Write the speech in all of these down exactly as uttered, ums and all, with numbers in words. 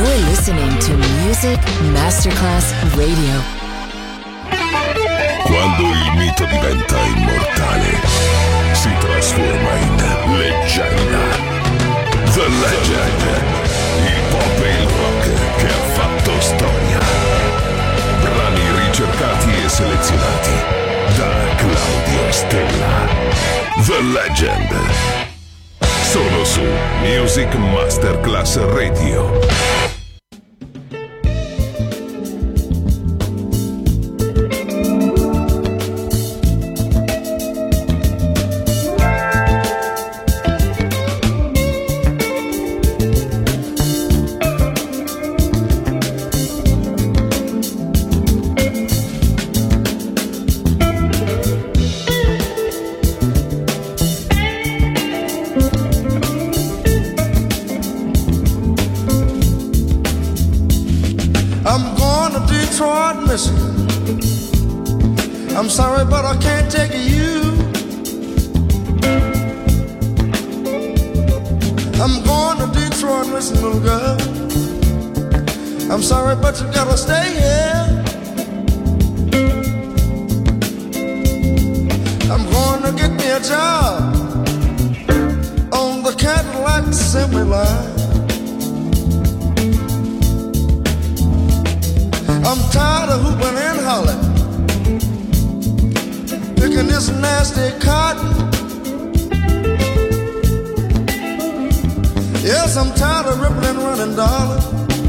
You're listening to Music Masterclass Radio. Quando il mito diventa immortale, si trasforma in leggenda. The Legend, il pop e il rock che ha fatto storia. Brani ricercati e selezionati da Claudio Stella. The Legend. Solo su Music Masterclass Radio. I'm sorry, but I can't take you. I'm going to Detroit, listen, little girl. I'm sorry, but you gotta stay here. I'm going to get me a job on the Cadillac assembly line. I'm tired of hooping and hollering, picking this nasty cotton. Yes, I'm tired of ripping and running, darling,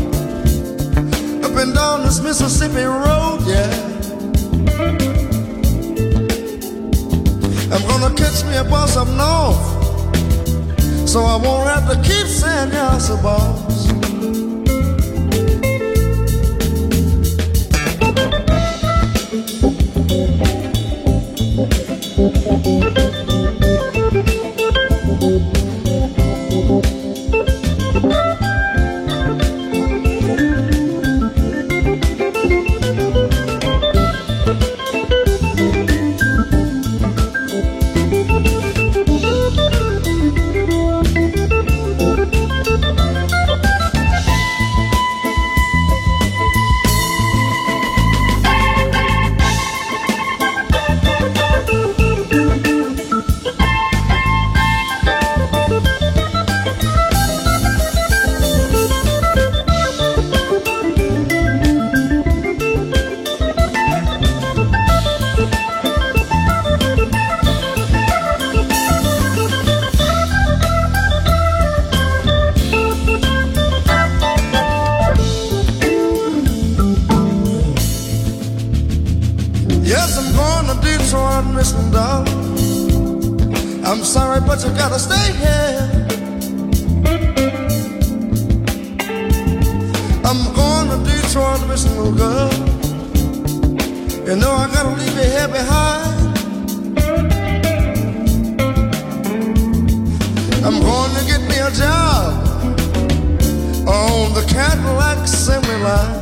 up and down this Mississippi road, yeah. I'm gonna catch me a bus up north, so I won't have to keep saying yes, boss. I'm sorry, but you gotta stay here. I'm going to Detroit, listen, little girl. You know I gotta leave you here behind. I'm going to get me a job on the Cadillac assembly line.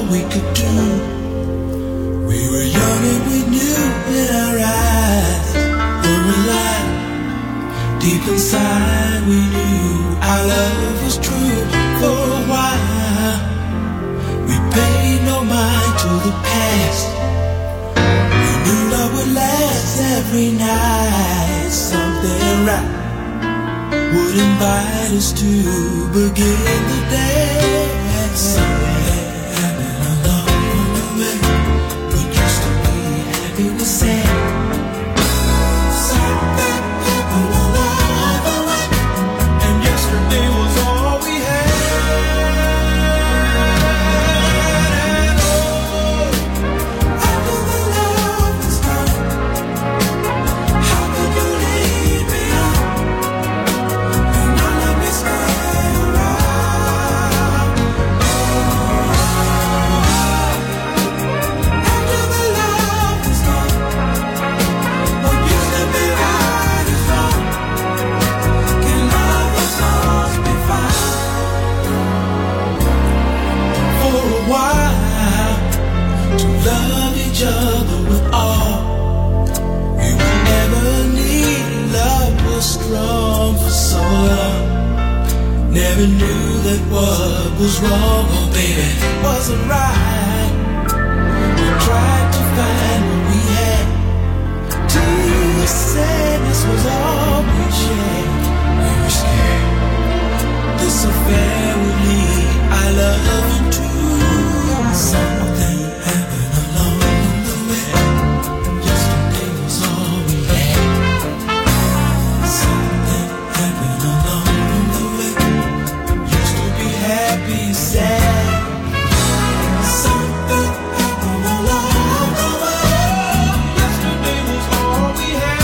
all we could do. We were young and we knew in our eyes were alive. Deep inside we knew our love was true. For a while we paid no mind to the past. We knew love would last every night. Something right would invite us to begin the day. Something happened along the way. We used to be happy, we said. Something happened along the way, and yesterday was all we had. And oh, after the love was gone, how could you leave me on? And now let me stay around. After the love was gone, what used to be right is wrong. Can love was lost be found? For a while, to love each other with all we would never need. Love was strong for so long. Never knew that what was wrong, oh baby, wasn't right. We tried to find what we had. Till sadness was all we shared. We were scared this affair would lead our love into something happened along the way. Yesterday was all we had. Something happened along the way. Used to be happy, sad. Something happened along the way. Yesterday was all we had.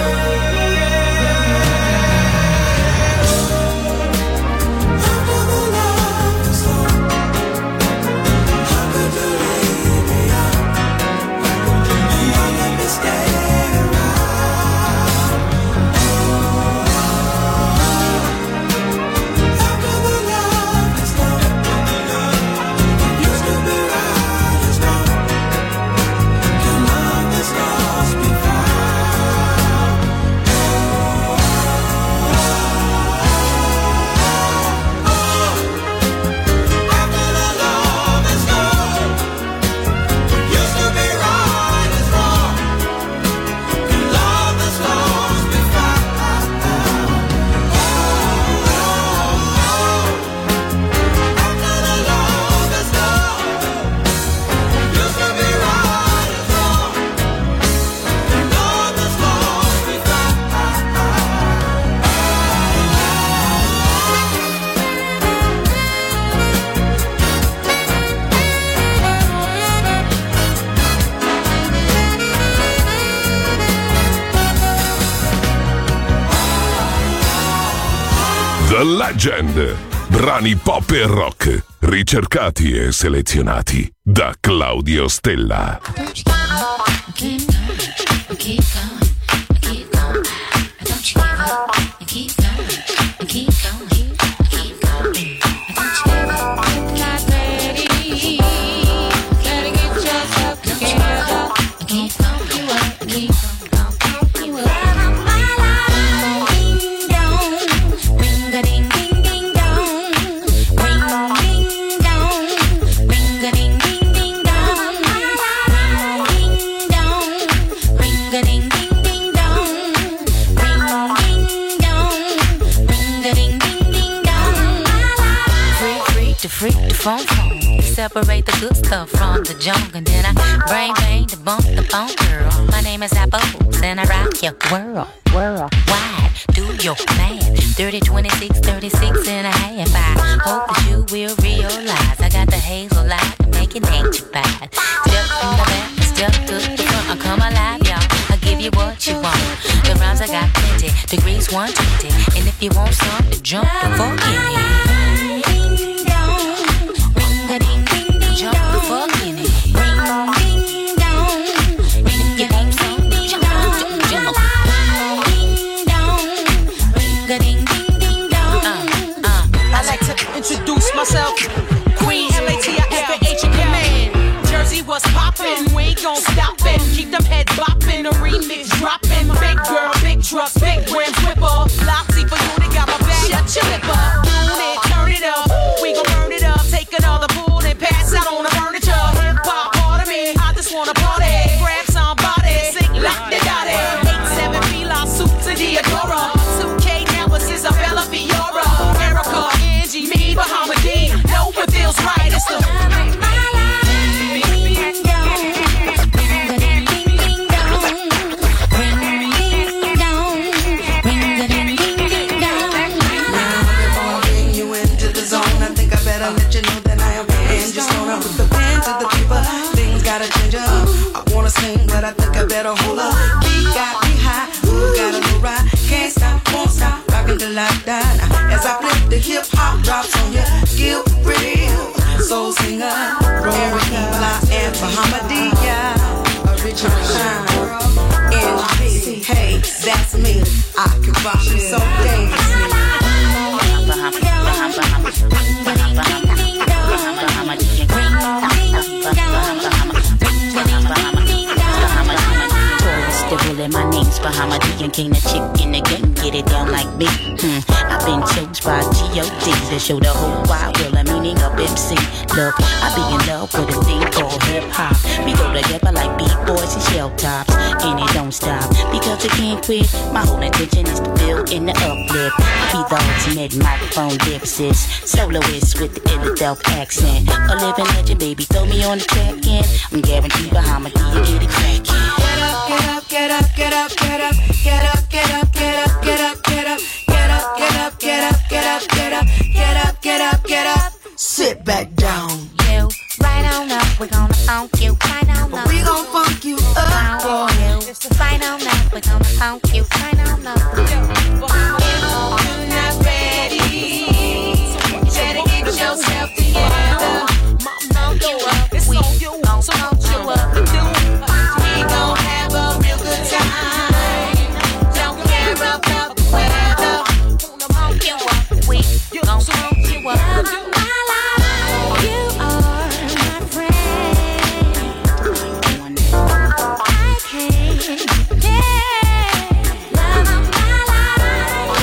After the love was gone, how could you leave me on? How could you leave me let me stay around? After the love is gone, what used to be right is wrong. Can love that's lost be found? After the love is gone, what used to be right is wrong. Can love that's lost be found? After the love is gone, what used to be right is wrong. Can love that's lost be found? The Legend. Brani pop e rock, ricercati e selezionati da Claudio Stella. Keep going, keep going, keep going. Don't you give up, keep going, keep going, keep going. Don't you give up, not ready. Gotta get yourself together. Keep going, you up, keep going, you up. Ding dong, ring a ding ding ding dong, ring ding dong, ring a ding ding ding dong, ring dong, ring a ding ding ding dong, ring ding dong, ring a ding ding ding dong. Freak freak to freak to phone phone. Separate the good stuff from the junk, and then I brain bang to bump the phone girl. My name is Apple, and I rock your world, world wide. Do your math, thirty, twenty-six, thirty-six and a half. I hope that you will realize I got the hazel light to make it ain't too bad. Step from the back, step to the front, I come alive, y'all. I give you what you want. The rhymes I got plenty, degrees one twenty, and if you want some to jump the fuck in it. Jump the fuck in it. Ring ding dong. And if you want some, jump, jump, jump. Ding dong. Ring a ding ding ding dong. Uh, uh. I like to introduce myself. Queen M A T I F A H in command. let you know that I am and just gonna put the pen to the paper. Things gotta change up. I wanna sing, but I think I better hold up. Beat got me high, ooh, got a little ride. Can't stop, won't stop, rockin' till I die. Now, as I flip the hip hop drops on you, Gil Real, soul singer, Erica, Fly, and Bahamadia. Original shine, N G, hey, that's me. I can rock it so dangerously. My name's Bahamadia, king of chick in the game, get it down like me. Hmm. I've been chose by G O D to show the whole wide world the meaning of M C. Look, I be in love with a thing called hip hop. We go together like B-boys and shell tops, and it don't stop because it can't quit. My whole intention is to build in the uplift. I be the ultimate microphone dipsist, soloist with the Philadelphia accent. A living legend, baby, throw me on the track and I'm guaranteed Bahamadia get it crackin'. Get up, get up, get up, get up, get up, get up, get up, get up, get up, get up, get up, get up, get up, get up, get up, get up. Sit back down. You right on up, we're gonna funk you right on up. We gon' funk you up, boy. Right on up, we're gonna funk you right on up. You're not ready. Better get yourself together. Funk you up, we gon' funk you up. We gon' have a real good time. Don't care about the weather. Funk you up, we gon' funk you up. You are my friend. I can't get love of my life.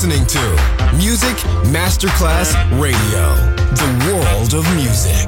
listening to Music Masterclass Radio, the world of music.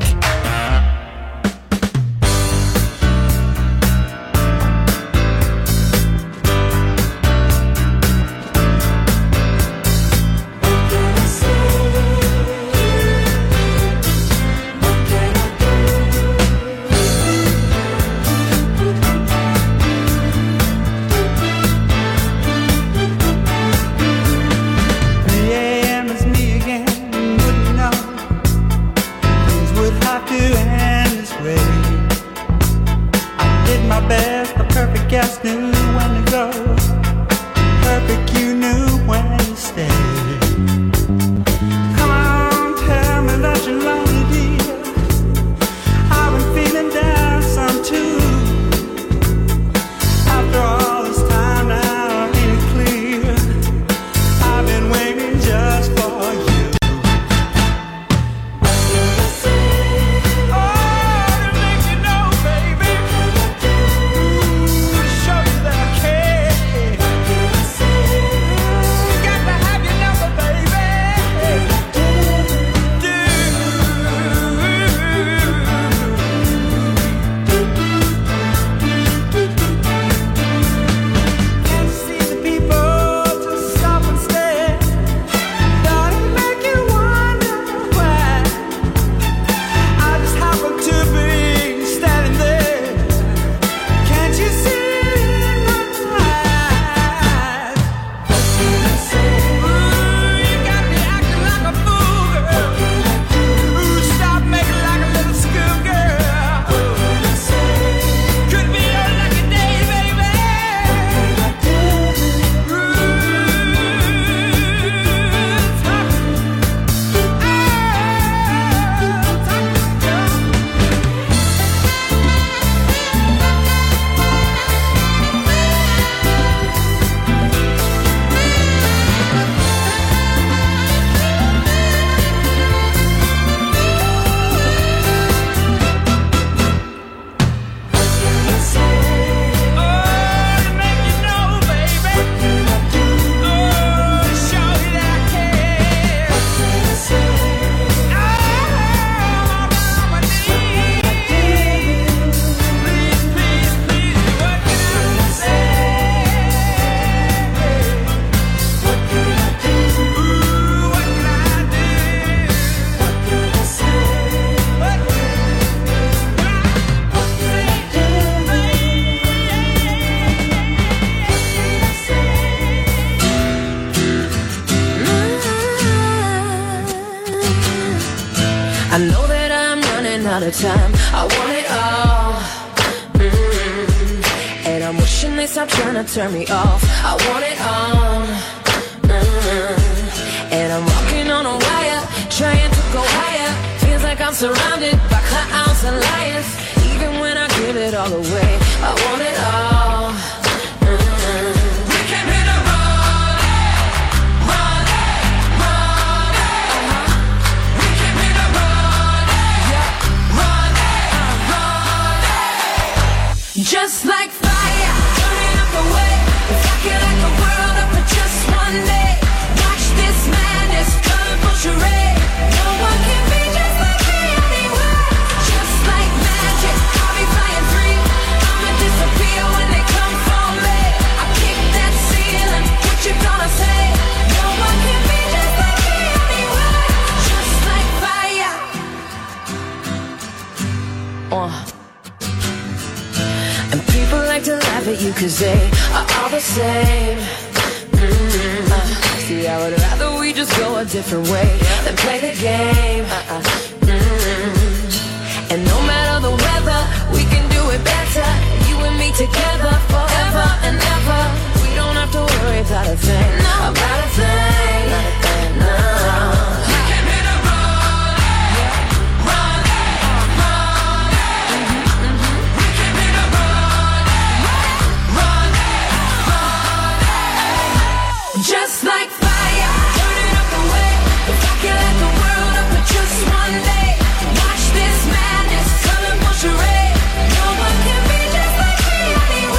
Time. I want it all, mm-hmm. And I'm wishing they stop trying to turn me off. I want it all, mm-hmm. And I'm walking on a wire, trying to go higher. Feels like I'm surrounded by clowns and liars. Even when I give it all away, I want it all, mm-hmm. We came here to run it, run it, run it. Uh-huh. We came here to run it, yeah. Just like fire, burning up the way. If I could light the world up for just one day, watch this madness, colorful charade. No one can be just like me anywhere. Just like magic, I'll be flying free. I'ma disappear when they come for me. I kick that ceiling, what you gonna say? No one can be just like me anywhere. Just like fire. Uh. People like to laugh at you cause they are all the same. Mm-hmm. uh, See, I would rather we just go a different way than play the game. uh-uh. mm-hmm. And no matter the weather, we can do it better. You and me together forever and ever. We don't have to worry about a thing, no. About a thing, not a thing, no. Just like fire, burning up the way. If I could light the world up for just one day, watch this madness, colorful charade. No one can be just like me anyway.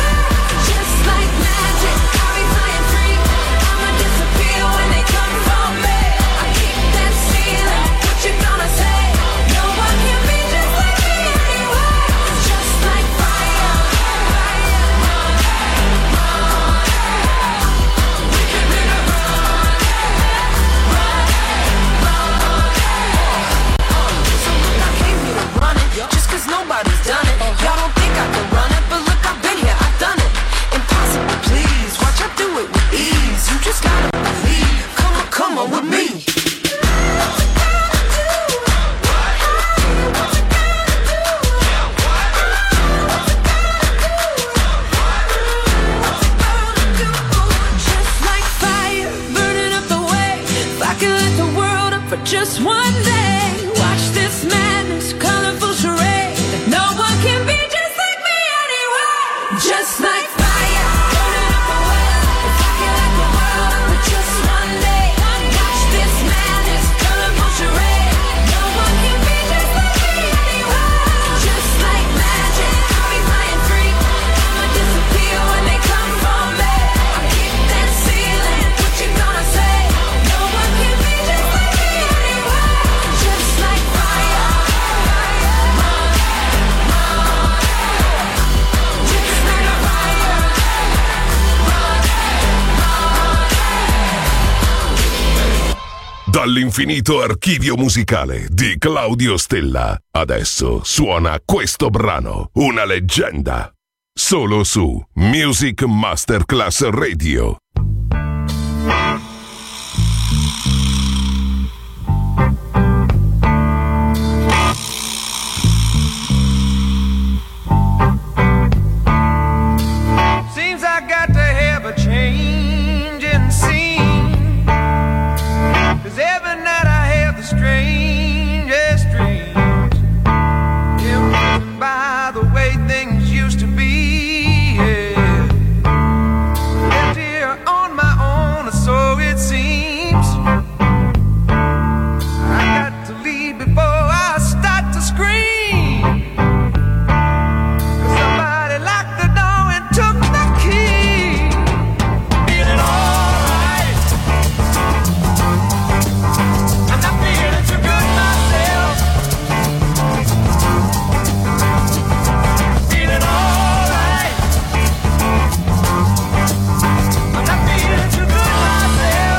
Dall'infinito archivio musicale di Claudio Stella, adesso suona questo brano, una leggenda. Solo su Music Masterclass Radio. Seems I got to have a change in scene, 'cause every night I have the strangest dreams, influenced by the way things used to be, yeah. Left here on my own, so it seems. I got to leave before I start to scream, 'cause somebody locked the door and took my key. Feeling alright, I'm not feeling too good myself. Feeling alright, I'm not feeling too good myself.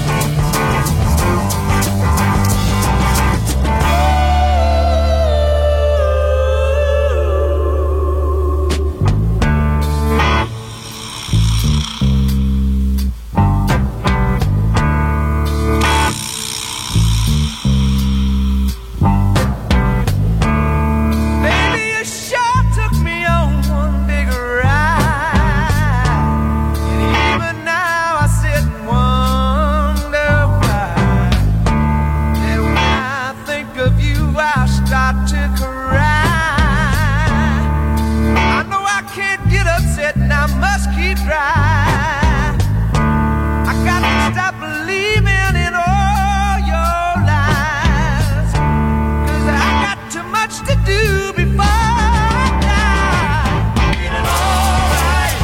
Baby, you sure took me on one big ride, and even now I sit and wonder why. And when I think of you, I start to cry. I know I can't get upset and I must keep dry. I got to stop believing in all your lies, 'cause I got too much to do before I die. Feeling alright,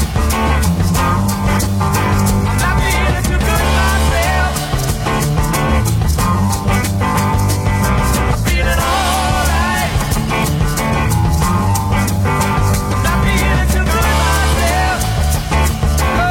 I'm not feeling too good myself. I'm feeling alright, I'm not feeling too good myself. Oh.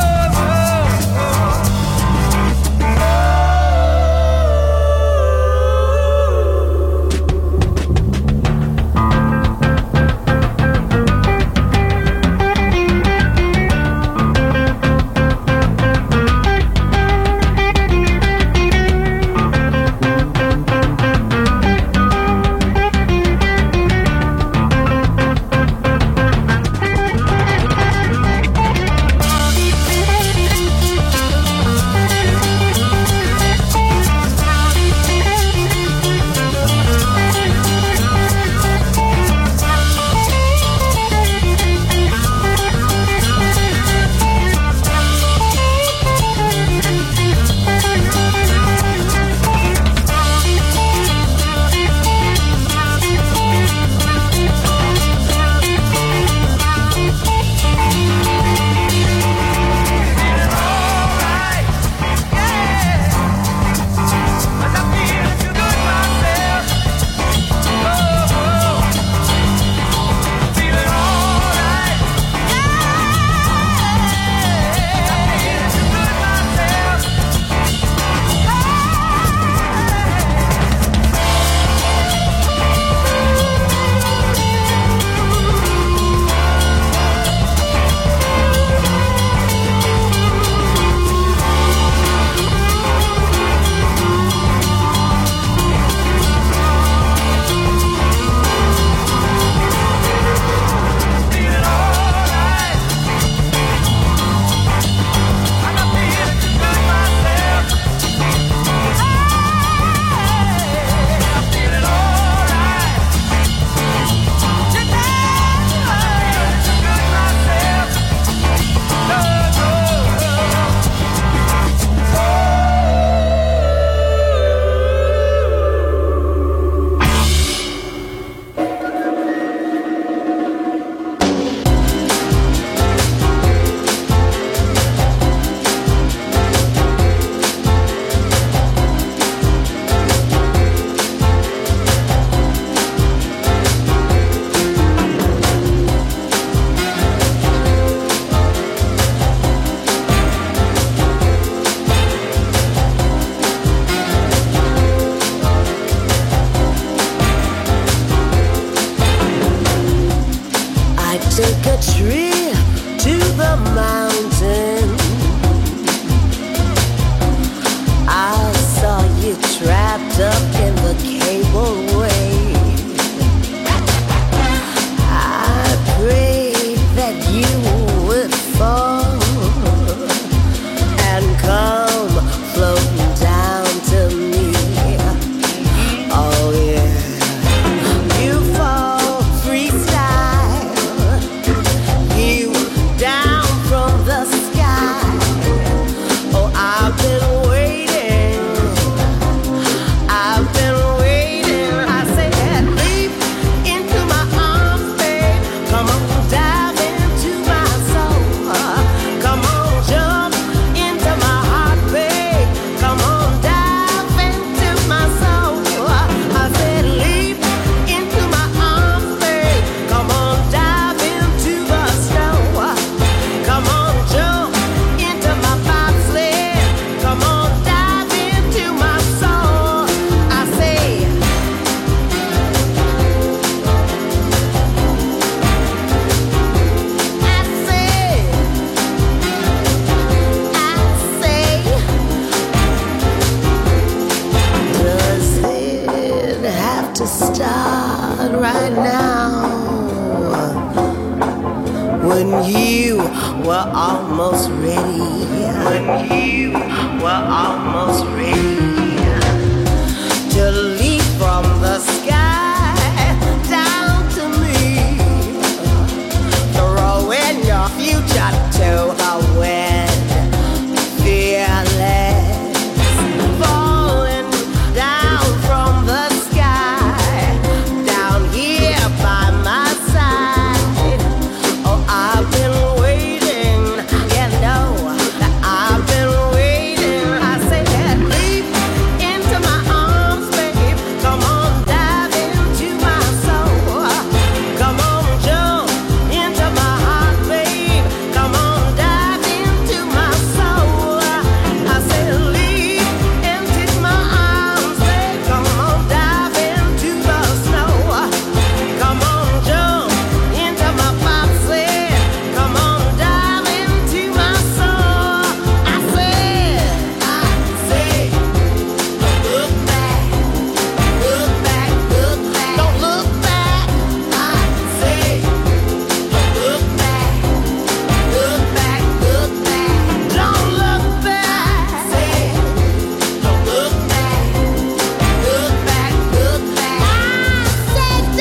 were almost ready, when you were almost ready to leap from the sky down to me, throwing your future to the wind, fearless, falling down from the sky, down here by my side. Oh, I've been waiting, you know that I've been waiting. I said, leap into my arms, babe. Come on, dive into my soul. Come on, jump into my heart, babe. Come on, dive into my soul. I said, leap into my arms, babe. Come on, dive into the snow. Come on, jump into my bobsled. Come on, dive into my soul. I said, I said, look back, look back, look back. Don't look back. I said, look back, look back, look back. Don't look back. I said, don't look back, look back, look back. I said, don't look back. Look back, look back,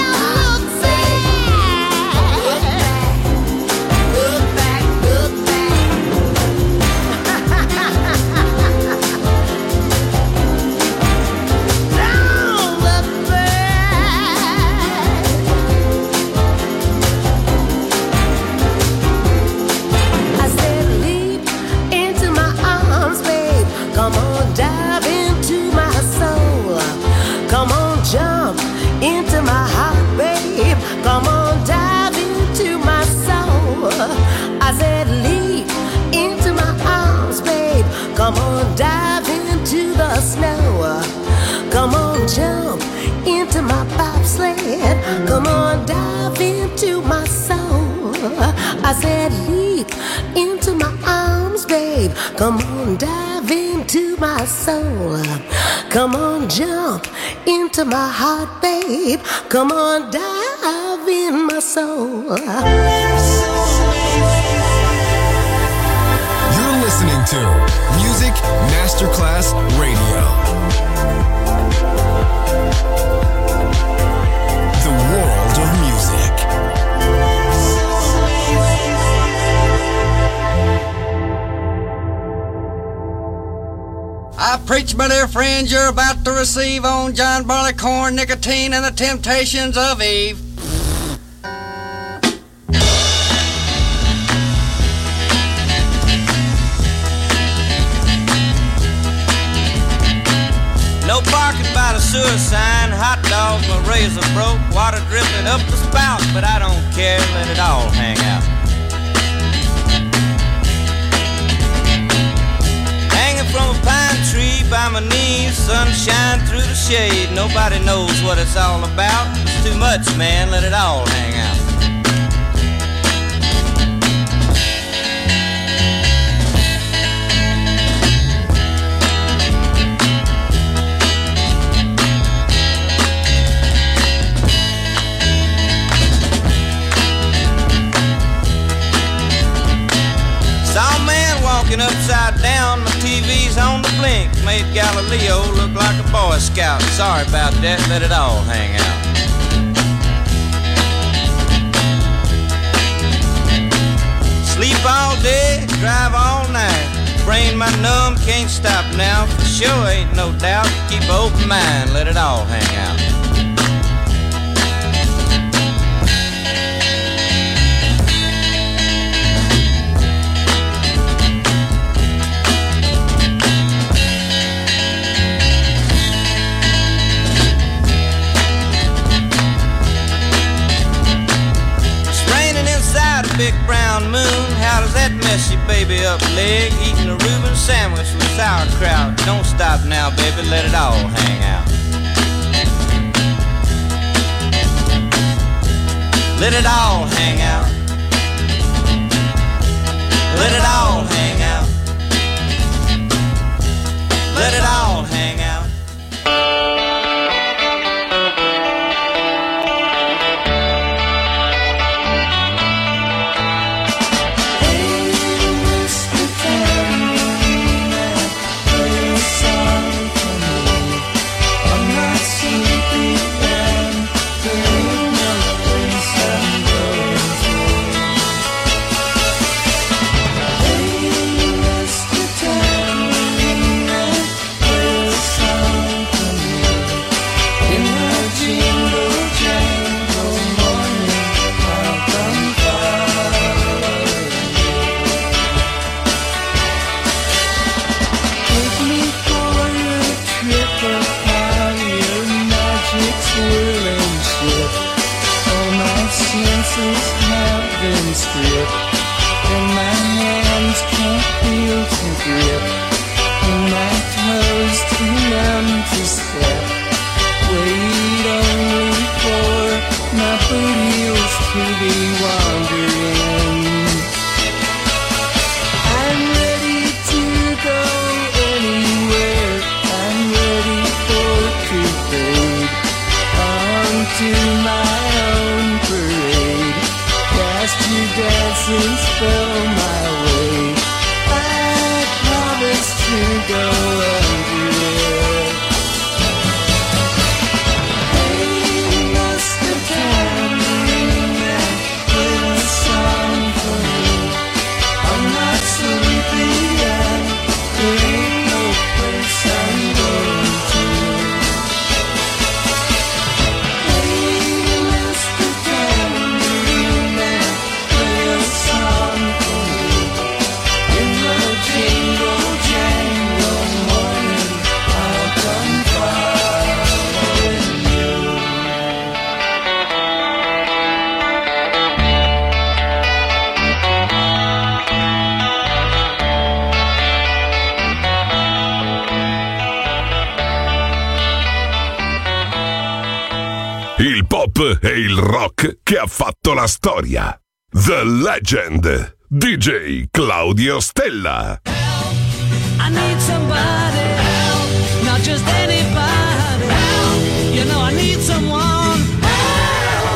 look back. Don't look back. I said, leap into my arms, babe. Come on, dive into my soul. Come on, jump into my heart, babe. Come on, dive into my soul. I said, leap into my arms, babe. Come on, dive into the snow. Come on, jump into my bobsled. Come on, dive into my soul. I said, leap into my arms, babe. Come on, dive into my soul. Come on, jump into my heart, babe. Come on, dive in my soul. You're listening to Music Masterclass Radio. The world of music. I preach, my dear friends, you're about to receive on John Barleycorn, Nicotine, and the Temptations of Eve. No parking by the sewer sign, hot dogs, my razor broke, water dripping up the spout, but I don't care, let it all hang out. Hanging from a pine tree by my knees, sunshine through the shade, nobody knows what it's all about, it's too much, man, let it all hang out. Saw a man walking upside down, my T V's on the blink, made Galileo look like a Boy Scout. Sorry about that, let it all hang out. Sleep all day, drive all night, brain my numb, can't stop now, for sure ain't no doubt, keep an open mind, let it all hang out. Big brown moon, how does that mess your baby up leg? Eating a Reuben sandwich with sauerkraut. Don't stop now, baby, let it all hang out. Let it all hang out. Let it all hang out. Let it all hang out. Hey, my way. I promise to go and do it. Hey, Mister Tambourine, play a song for me. I'm not sleepy yet. There ain't no place I'm going to. Hey, Mister Tambourine, play a song for me. In the jingle jangle morning, I'll come following you. Il pop e il rock che ha fatto la storia. The Legend, D J Claudio Stella. I need somebody help, not just anybody help. You know I need someone help.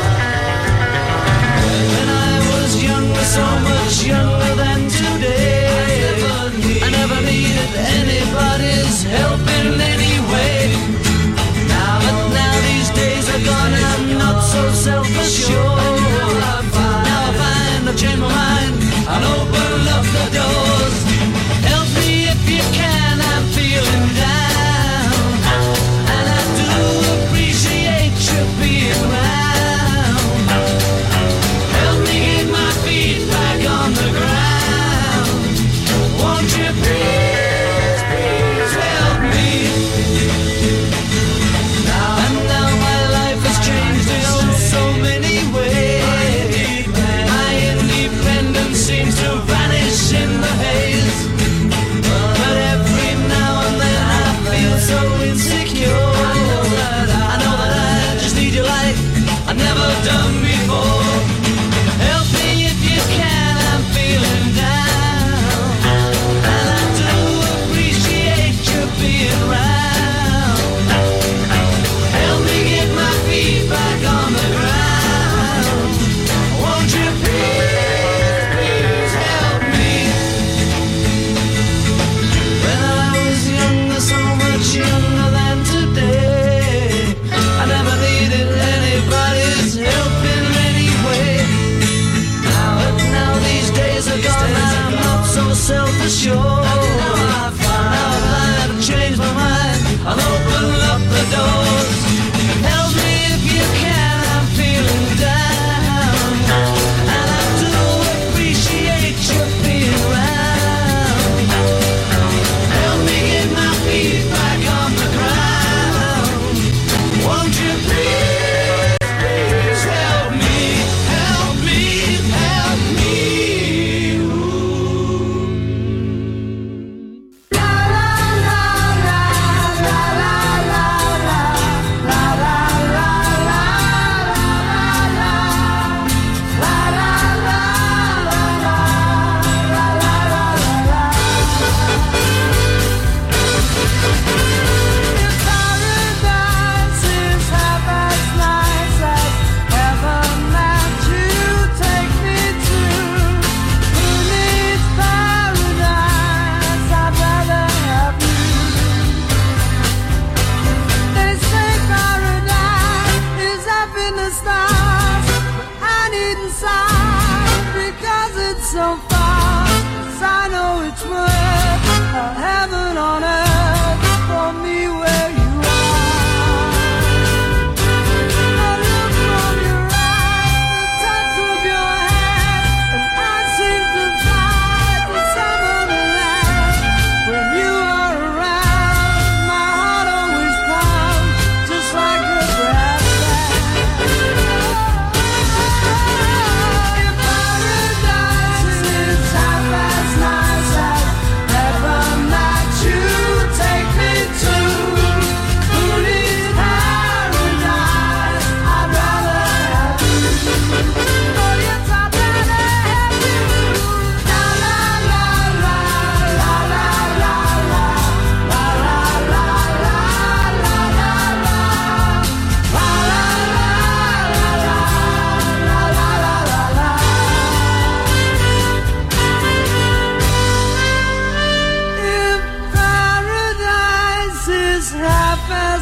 When I was younger, so much younger than today, I never needed anybody's help in any way. Now, but now these days are gone, I'm not so self-assured. Now I find I've changed my mind and open up the doors. Help me if you can, I'm feeling down, and I do appreciate you being around. Help me get my feet back on the ground. Won't you please, please help me? Now and now my life has changed in oh so many ways. My independence seems to vanish in the haze. But every now and then I feel so insecure. I know that I, I know that I just need you like I've never done before. Help me if you can, I'm feeling down, and I do appreciate you being around. Help me get my feet back on the ground. Won't you please, please help me? When I was younger, so much younger than today, I never needed anybody's help in any way. Now, but now these days are gone, and I'm not so self-assured. Now I find out that I've changed my mind, I'll open up the doors. Help me if you can, I'm feeling down, and I do appreciate you being around. Help me get my feet back on the ground. Won't you please, please help me, help me, help me. So far, 'cause I know it's worth a heaven on earth for me where you are. The look from your eyes, the touch of your hand, and I seem to fly to some other land. When you are around, my heart always pounds just like a brass band. If paradise is half as nice as ever met you.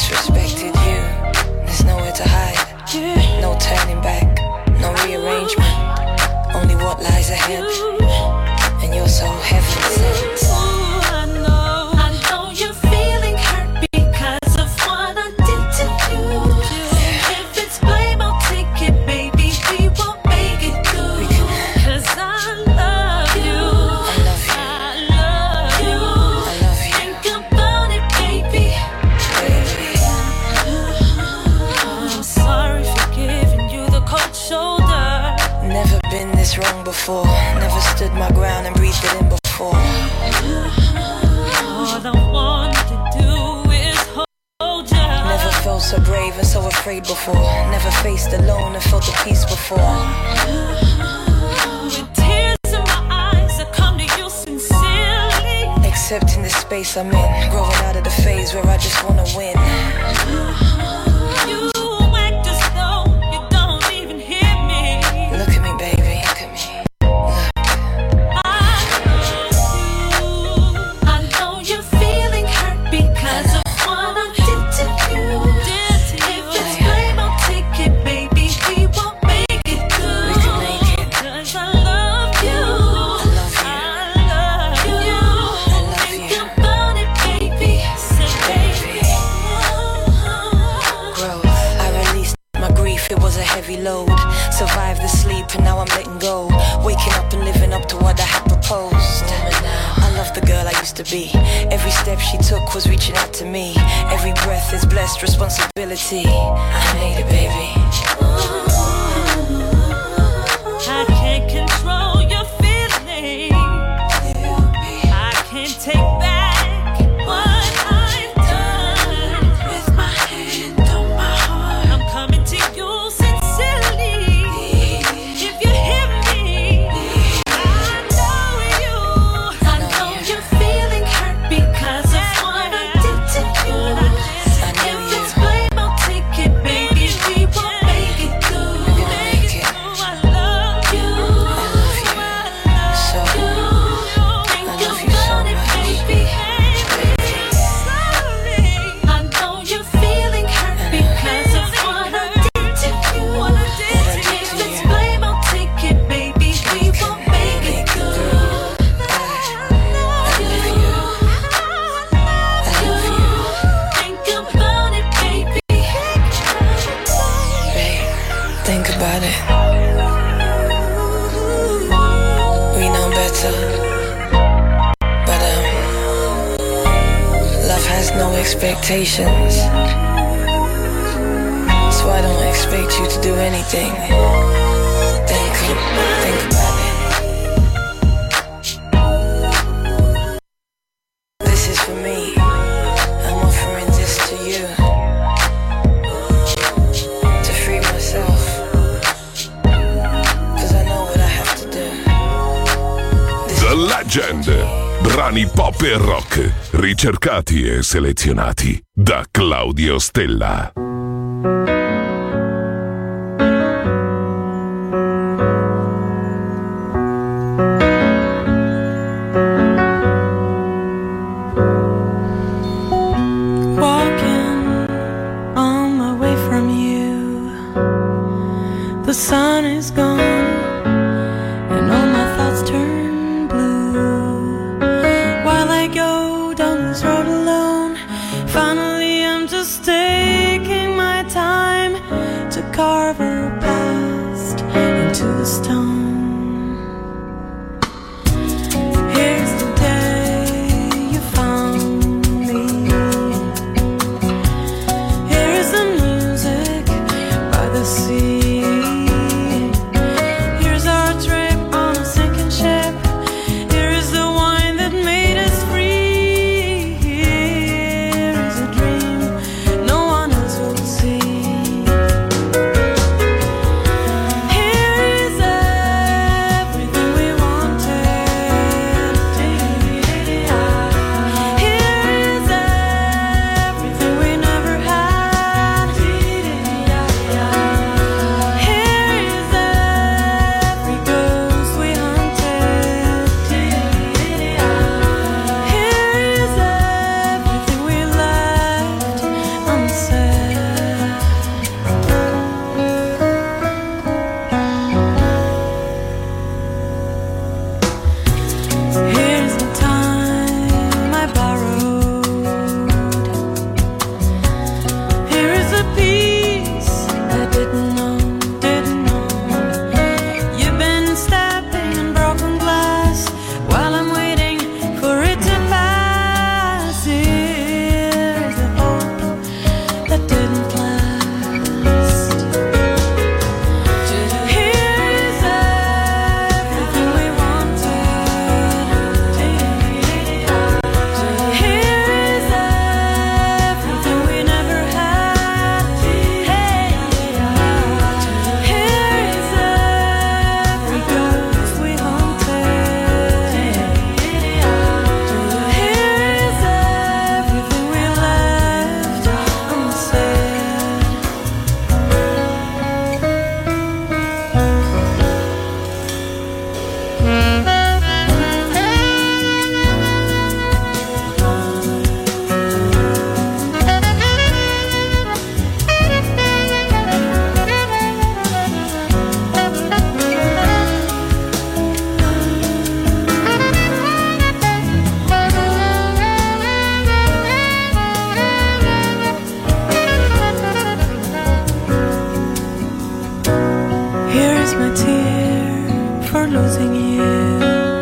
disrespected you. There's nowhere to hide. No turning back, no rearrangement. Only what lies ahead. And you're so heaven sent. I know, I know you're feeling hurt because of what I did to you. If it's blame, I'll take it, baby. We won't make it good. Cause I love you. I love you. I love you. Think about it, baby. I'm sorry for giving you the cold shoulder. Never been this wrong before. Never stood my ground and breathed it in before. All I want to do is hold you. Never felt so brave and so afraid before. Never faced alone and felt the peace before. With tears in my eyes, I come to you sincerely. Accepting the space I'm in, growing out of the phase where I just wanna win. You act as though you don't even hear me. Look at me, baby, look at me. I know you're feeling hurt because of what I did to you. If it's blame, I'll take it, baby. We won't make it good. Cause I love you. I love you. Think about it, baby. Say, baby. Growth, I released my grief, it was a heavy load. Survived the sleep and now I'm letting go. Waking up and living up to what I had proposed. I love the girl I used to be. Every step she took was reaching out to me. Every breath is blessed responsibility. I made it, baby. I can't control your feelings. I can't take back what I've done. With my hand on my heart, I'm coming to you sincerely. If you hear me, I know you. I know you're feeling hurt because of what I did to you. If it's blame, I'll take it, baby. We won't make it good. I love you. I love you. Think about it, baby. I know you're feeling hurt because of what I did to you. If it's blame, I'll take it, baby. We won't make it good. Think about it, baby. Think about it. We know better. But um love has no expectations. So I don't expect you to do anything. Think, think about it. This is for me. I'm offering this to you. To free myself. Cause I know what I have to do. The Legend. Brani pop e rock, ricercati e selezionati da Claudio Stella. Walking on my way from you, the sun is gone and all my thoughts turn blue. While I go down this road alone, finally I'm just taking my time to carve our past into the stone. Here's the day you found me. Here's the music by the sea. Here's our trip on a sinking ship. Here is the wine that made us free. Here is a dream no one else will see. Here is a is my tear for losing you.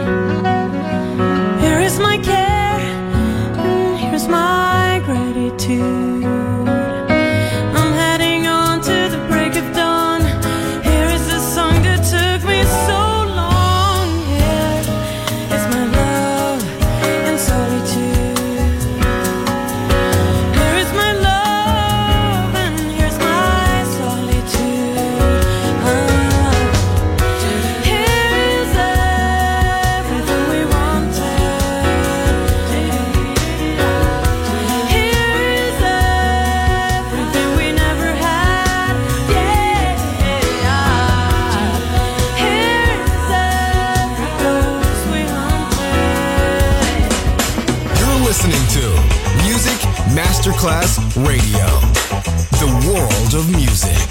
Here is my care, and here's my gratitude. I'm heading on to the break of dawn. Here is the song that took me so long. Here is my love in solitude. Here is my love, and here's my solitude. Ah. Here is everything we wanted. Here is everything we never had. Yeah. Here is every ghost we hunted. You're listening to Music Masterclass Radio, the world of music.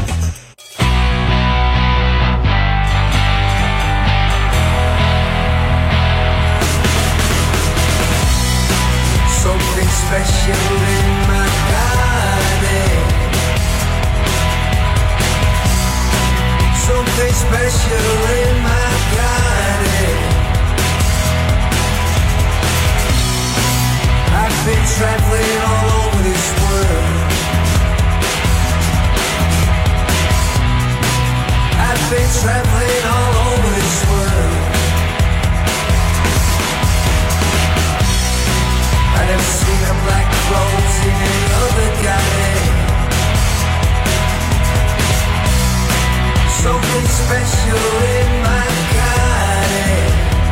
Something special in my garden. Something special in my garden. I've been traveling all over this world. I've been traveling all over this world. I never seen a black rose in any other garden. Something special in my garden.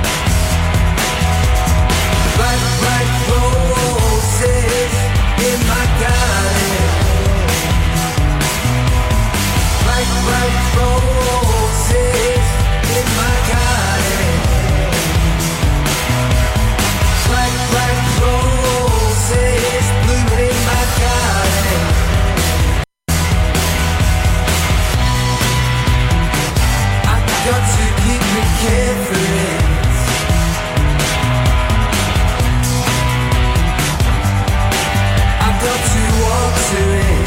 Black, black roses in my garden. Black, black roses in my garden. Black, black roses blooming in my garden. I've got to keep me carefully. I've got to walk to it.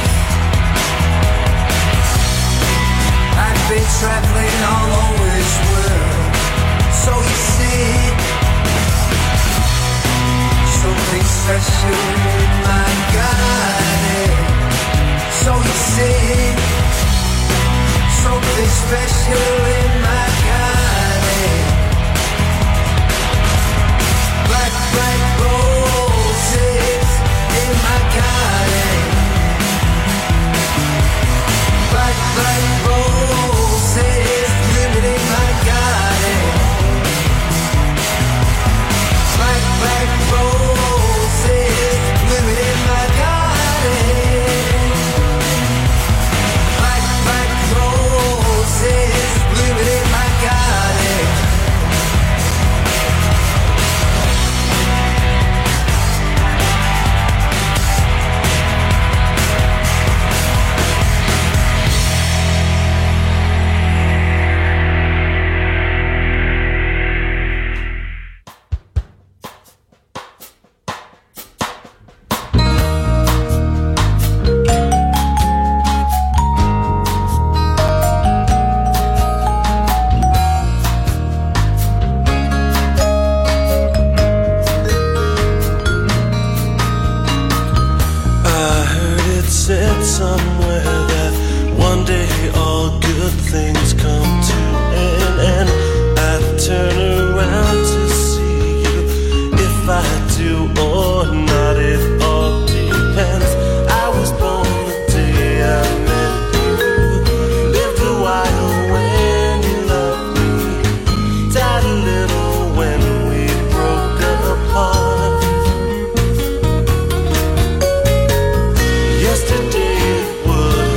I've been traveling all over this world. So you see, something special in my garden. So you see, something special in my garden. Black, black roses in my garden. Black, black roses blooming in my garden. Black, black roses blooming in my garden. Black, black roses blooming in my garden. I heard it said somewhere that one day all good things come to an end. I turn around to see you. If I do or not, it all depends. I was born the day I met you. Lived a while when you loved me. Died a little when we broke apart. Yesterday would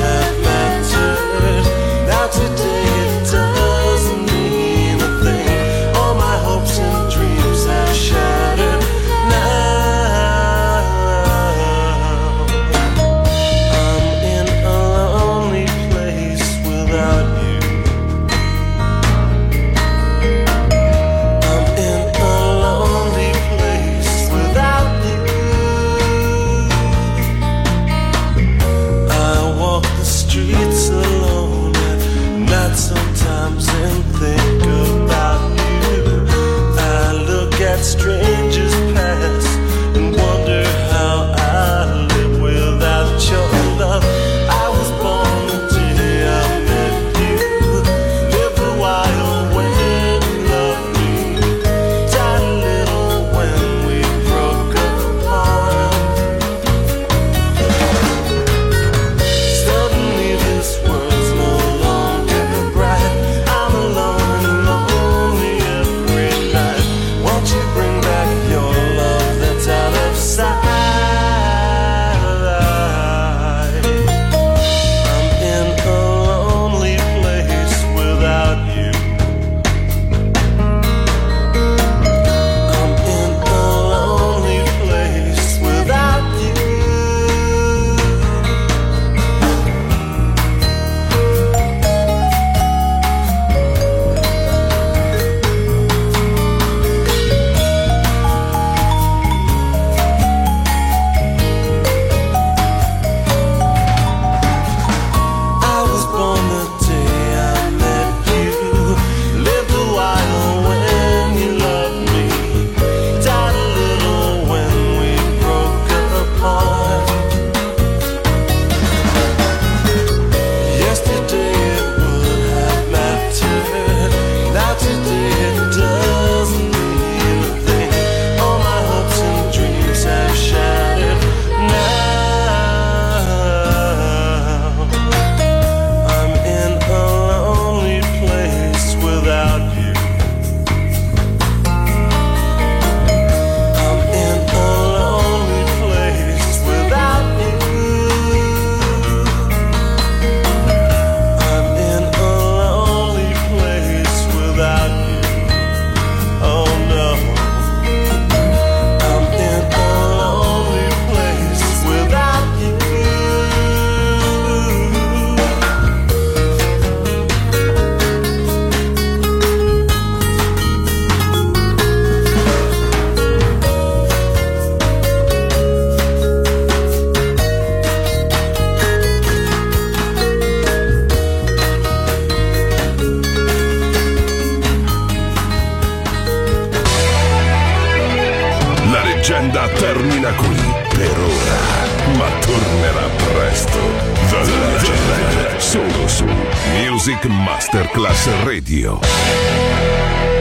termina qui per ora, ma tornerà presto. The Legend, solo su Music Masterclass Radio.